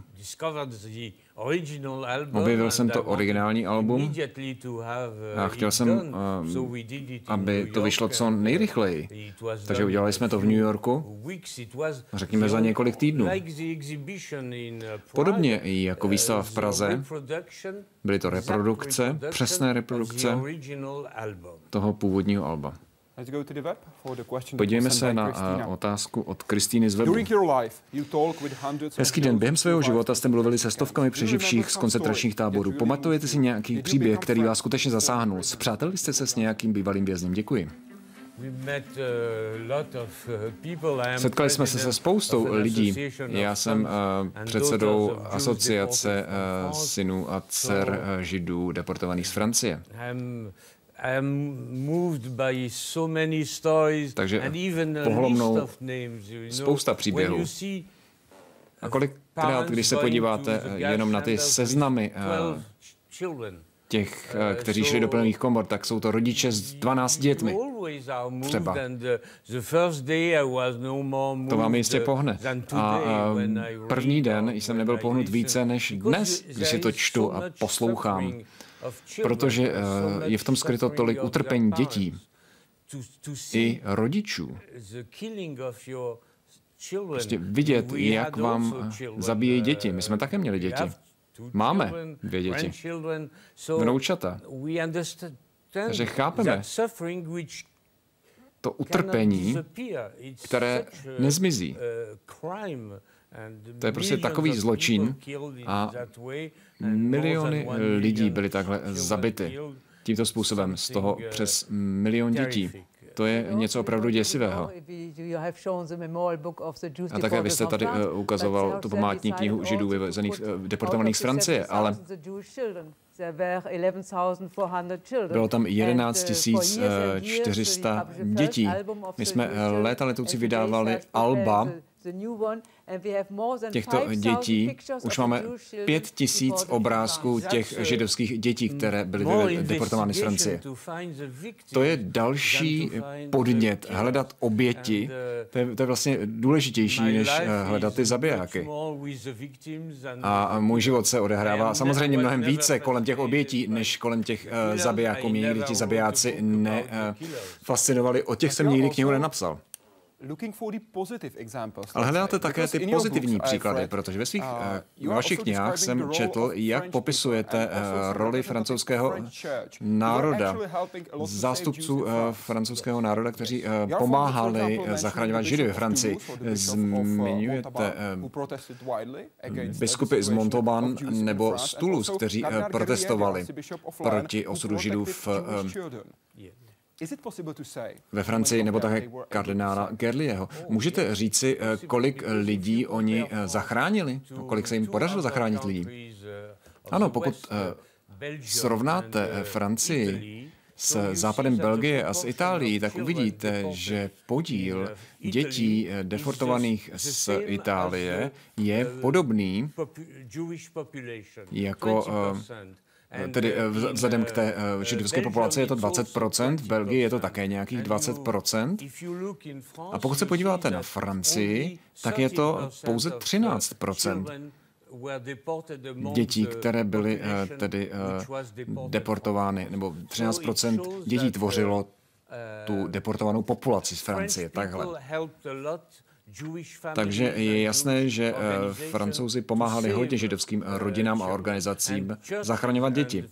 Objevil jsem to originální album a chtěl jsem, aby to vyšlo co nejrychleji. Takže udělali jsme to v New Yorku, řekněme za několik týdnů. Podobně jako výstava v Praze, byly to reprodukce, přesné reprodukce toho původního alba. Podívejme se na otázku od Kristýny z webu. Hezký den. Během svého života jste mluvili se stovkami přeživších z koncentračních táborů. Pamatujete si nějaký příběh, který vás skutečně zasáhnul? Spřátelili jste se s nějakým bývalým vězněm? Děkuji. Setkali jsme se se spoustou lidí. Já jsem uh, předsedou asociace uh, synů a dcer uh, Židů deportovaných z Francie. Takže pohlo mnou spousta příběhů. A kolikrát, když se podíváte jenom na ty seznamy těch, kteří šli do plných komor, tak jsou to rodiče s dvanácti dětmi. Třeba. To vám jistě pohne. A první den jsem nebyl pohnut více než dnes, když si to čtu a poslouchám. Protože je v tom skryto tolik utrpení dětí i rodičů. Prostě vidět, jak vám zabíjejí děti. My jsme také měli děti. Máme dvě děti. Vnoučata. Takže chápeme to utrpení, které nezmizí. To je prostě takový zločin a miliony lidí byly takhle zabity tímto způsobem, z toho přes milion dětí. To je něco opravdu děsivého. A také vy jste tady uh, ukazoval tu památní knihu Židů vyvezených, uh, deportovaných z Francie, ale bylo tam jedenáct tisíc čtyři sta dětí. My jsme léta letoucí vydávali alba těchto dětí. Už máme pět tisíc obrázků těch židovských dětí, které byly deportovány z Francie. To je další podnět hledat oběti. To je, to je vlastně důležitější, než hledat ty zabijáky. A můj život se odehrává samozřejmě mnohem více kolem těch obětí, než kolem těch uh, zabijáků. Mě nikdy ti zabijáci nefascinovali. O těch jsem nikdy knihu nenapsal. Ale hledáte také ty pozitivní příklady, protože ve svých uh, vašich knihách jsem četl, jak popisujete uh, roli francouzského národa, zástupců uh, francouzského národa, kteří uh, pomáhali uh, zachraňovat Židy ve Francii. Zmiňujete uh, biskupy z Montauban nebo z Toulouse, kteří uh, protestovali proti osudu Židů v uh, ve Francii, nebo také kardinála Gerlieho. Můžete říci, kolik lidí oni zachránili? Kolik se jim podařilo zachránit lidí? Ano, pokud srovnáte Francii s západem Belgie a s Itálií, tak uvidíte, že podíl dětí deportovaných z Itálie je podobný jako tedy vzhledem k té židovské populaci je to dvacet procent, v Belgii je to také nějakých dvacet procent. A pokud se podíváte na Francii, tak je to pouze třináct procent dětí, které byly tedy deportovány, nebo třináct procent dětí tvořilo tu deportovanou populaci z Francie, takhle. Takže je jasné, že Francouzi pomáhali hodně židovským rodinám a organizacím zachraňovat děti.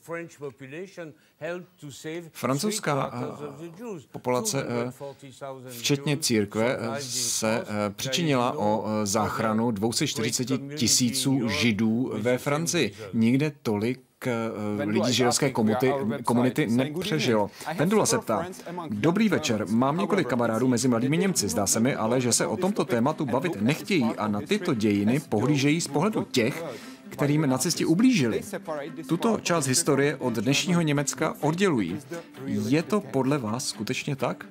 Francouzská populace, včetně církve, se přičinila o záchranu dvě stě čtyřicet tisíců Židů ve Francii. Nikde tolik lidí židovské komunity, komunity nepřežilo. Pendula se ptá: Dobrý večer, mám několik kamarádů mezi mladými Němci. Zdá se mi ale, že se o tomto tématu bavit nechtějí a na tyto dějiny pohlížejí z pohledu těch, kterým nacisti ublížili. Tuto část historie od dnešního Německa oddělují. Je to podle vás skutečně tak?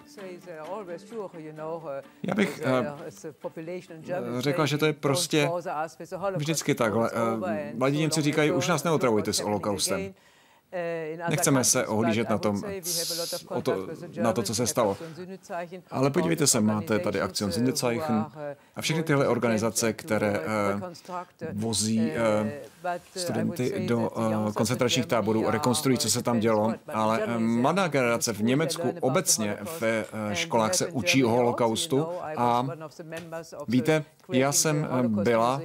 Já bych uh, řekla, že to je prostě vždycky takhle. Uh, mladí Němci říkají, už nás neotravujte s holokaustem. Nechceme se ohlížet na, tom, o to, na to, co se stalo. Ale podívejte se, máte tady Aktion Sünderzeichen a všechny tyhle organizace, které uh, vozí uh, studenty do uh, koncentračních táborů, rekonstruují, co se tam dělo, ale uh, mladá generace v Německu obecně ve uh, školách se učí o holokaustu a víte, já jsem byla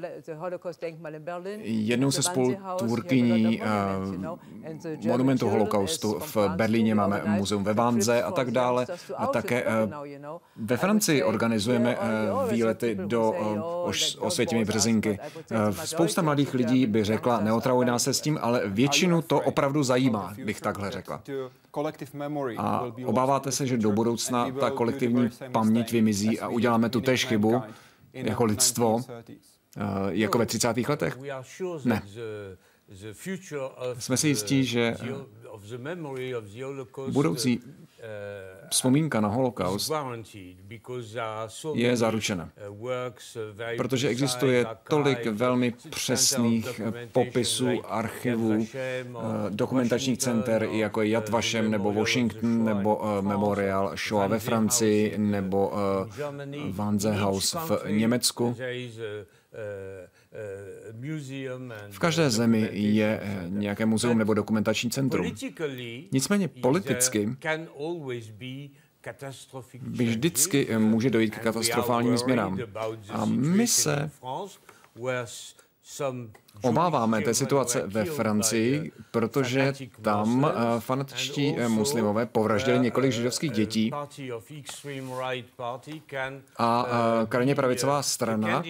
jednou se spolutvůrkyní uh, monumentu holokaustu. V Berlíně máme muzeum ve Vanze a tak dále. A také ve Francii organizujeme výlety do Osvětimi Březinky. Spousta mladých lidí by řekla, neotravuj nás se s tím, ale většinu to opravdu zajímá, bych takhle řekla. A obáváte se, že do budoucna ta kolektivní paměť vymizí a uděláme tu též chybu jako lidstvo, jako ve třicátých letech? Ne. Jsme si jistí, že budoucí vzpomínka na holokaust je zaručena, protože existuje tolik velmi přesných popisů, archivů, dokumentačních center, jako je Yad Vashem, nebo Washington, nebo Memorial Shoah ve Francii, nebo Wannsee-Haus v Německu. V každé zemi je nějaké muzeum nebo dokumentační centrum. Nicméně politicky vždycky může dojít k katastrofálním změnám. A my se obáváme té situace ve Francii, protože tam fanatičtí muslimové povraždili několik židovských dětí a krajně pravicová strana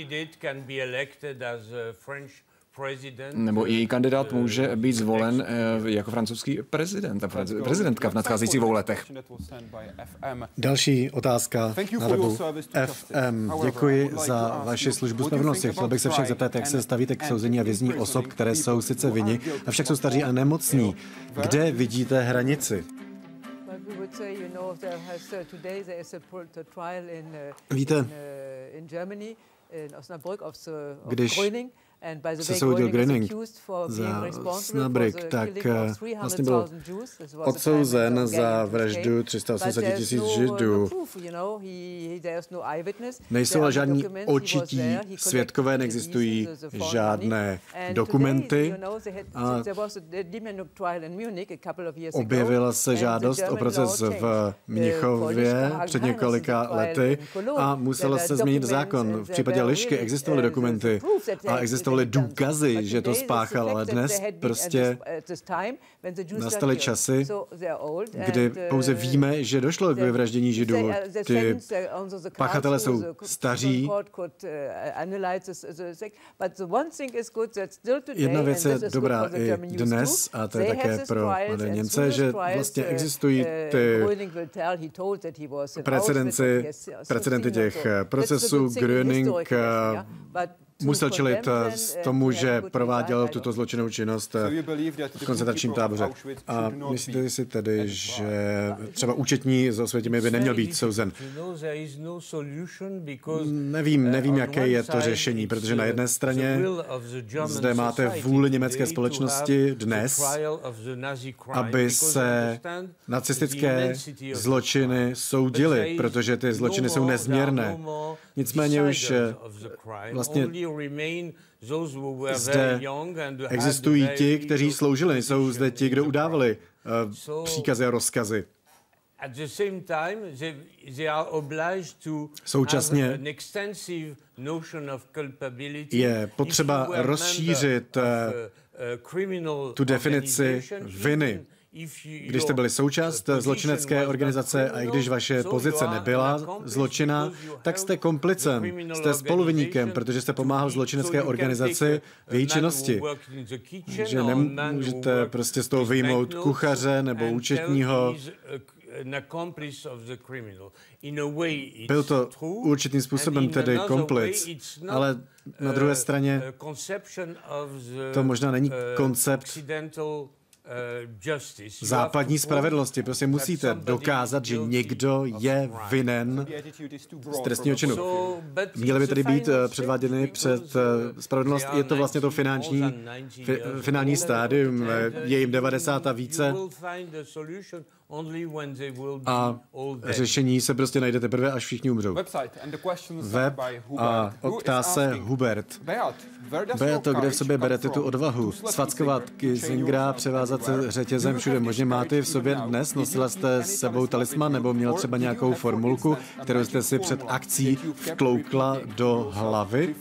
nebo její kandidát může být zvolen jako francouzský prezident, prezidentka v nadcházejících dvou letech. Další otázka na webu F M. Děkuji za vaši službu spravedlnosti. Chtěl bych se však zeptat, jak se stavíte k souzení a věznění osob, které jsou sice vinni, avšak jsou staří a nemocní. Kde vidíte hranici? Víte, když se soudil Gröning za Osnabrück, tak vlastně byl odsouzen za vraždu tři sta osmdesát tisíc Židů. Nejsou ale žádní očití svědkové, neexistují žádné dokumenty a objevila se žádost o proces v Mnichově před několika lety a musel se změnit zákon. V případě Lišky existovaly dokumenty a existovaly důkazy, že to spáchal, ale dnes prostě nastaly časy, kdy pouze víme, že došlo k vyvraždění Židů. Ty pachatelé jsou staří. Jedna věc je dobrá i dnes, a to je také pro mladé Němce, že vlastně existují ty precedenci, precedenty těch procesů. Gröning musel čelit tomu, že prováděl tuto zločinnou činnost v koncentračním táboře. A myslíte si tedy, že třeba účetní z Osvětimi by neměl být souzen? Nevím, nevím, jaké je to řešení, protože na jedné straně zde máte vůli německé společnosti dnes, aby se nacistické zločiny soudily, protože ty zločiny jsou nezměrné. Nicméně už vlastně zde existují ti, kteří sloužili, jsou zde ti, kdo udávali uh, příkazy a rozkazy. Současně je potřeba rozšířit uh, tu definici viny. Když jste byli součást zločinecké organizace a i když vaše pozice nebyla zločina, tak jste komplicem, jste spoluviníkem, protože jste pomáhal zločinecké organizaci v její činnosti. Že nemůžete prostě z toho vyjmout kuchaře nebo účetního. Byl to určitým způsobem tedy komplic, ale na druhé straně to možná není koncept západní spravedlnosti. Prostě musíte dokázat, že někdo je vinen z trestního činu. Měly by tedy být předváděny před spravedlnost. Je to vlastně to finanční, fi, finální stádium, je jim devadesát a více. A řešení se prostě najde teprve, až všichni umřou. Web a ptá Hubert. Beato, kde v sobě berete tu odvahu? Svackovat Kisingera, převázat se řetězem všude možně. Máte v sobě dnes? Nosila jste s sebou talisman nebo měl třeba nějakou formulku, kterou jste si před akcí vtloukla do hlavy?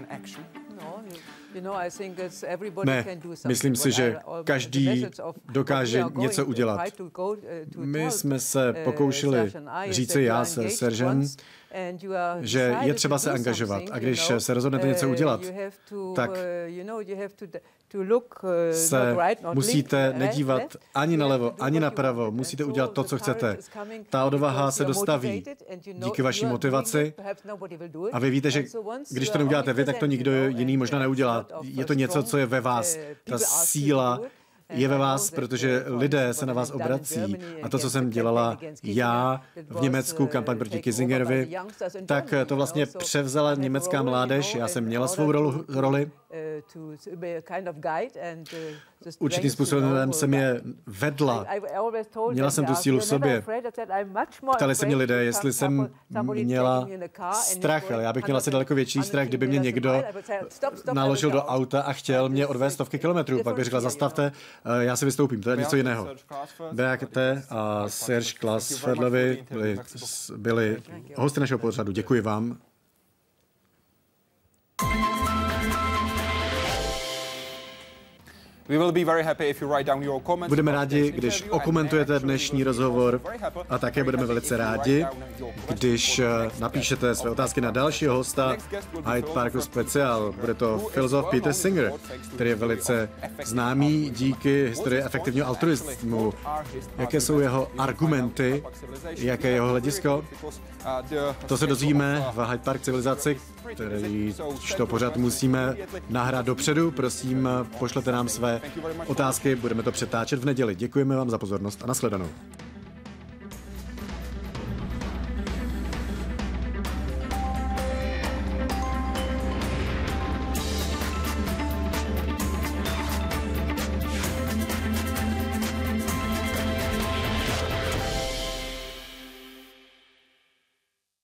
Ne, myslím si, že každý dokáže něco udělat. My jsme se pokoušeli říci já se Seržem, že je třeba se angažovat a když se rozhodnete něco udělat, tak se musíte nedívat ani nalevo, ani napravo, musíte udělat to, co chcete. Ta odvaha se dostaví díky vaší motivaci a vy víte, že když to neuděláte vy, tak to nikdo jiný možná neudělá. Je to něco, co je ve vás. Ta síla je ve vás, protože lidé se na vás obrací. A to, co jsem dělala já v Německu, kampaň proti Kissingerovi, tak to vlastně převzala německá mládež. Já jsem měla svou rolu, roli. Určitým způsobem jsem je vedla. Měla jsem tu sílu v sobě. Ptali se mě lidé, jestli jsem měla strach, ale já bych měla asi daleko větší strach, kdyby mě někdo naložil do auta a chtěl mě odvést stovky kilometrů. Pak bych řekla, zastavte, já si vystoupím, to je něco jiného. Beate a Serge Klausfeldovi byli, byli hosty našeho pořadu. Děkuji vám. Budeme rádi, když okomentujete dnešní rozhovor a také budeme velice rádi, když napíšete své otázky na dalšího hosta Hyde Parku Special. Bude to filozof Peter Singer, který je velice známý díky historii efektivního altruismu. Jaké jsou jeho argumenty, jaké je jeho hledisko? To se dozvíme v Hyde Park civilizaci, který to pořád musíme nahrát dopředu. Prosím, pošlete nám své otázky, budeme to přetáčet v neděli. Děkujeme vám za pozornost a nashledanou.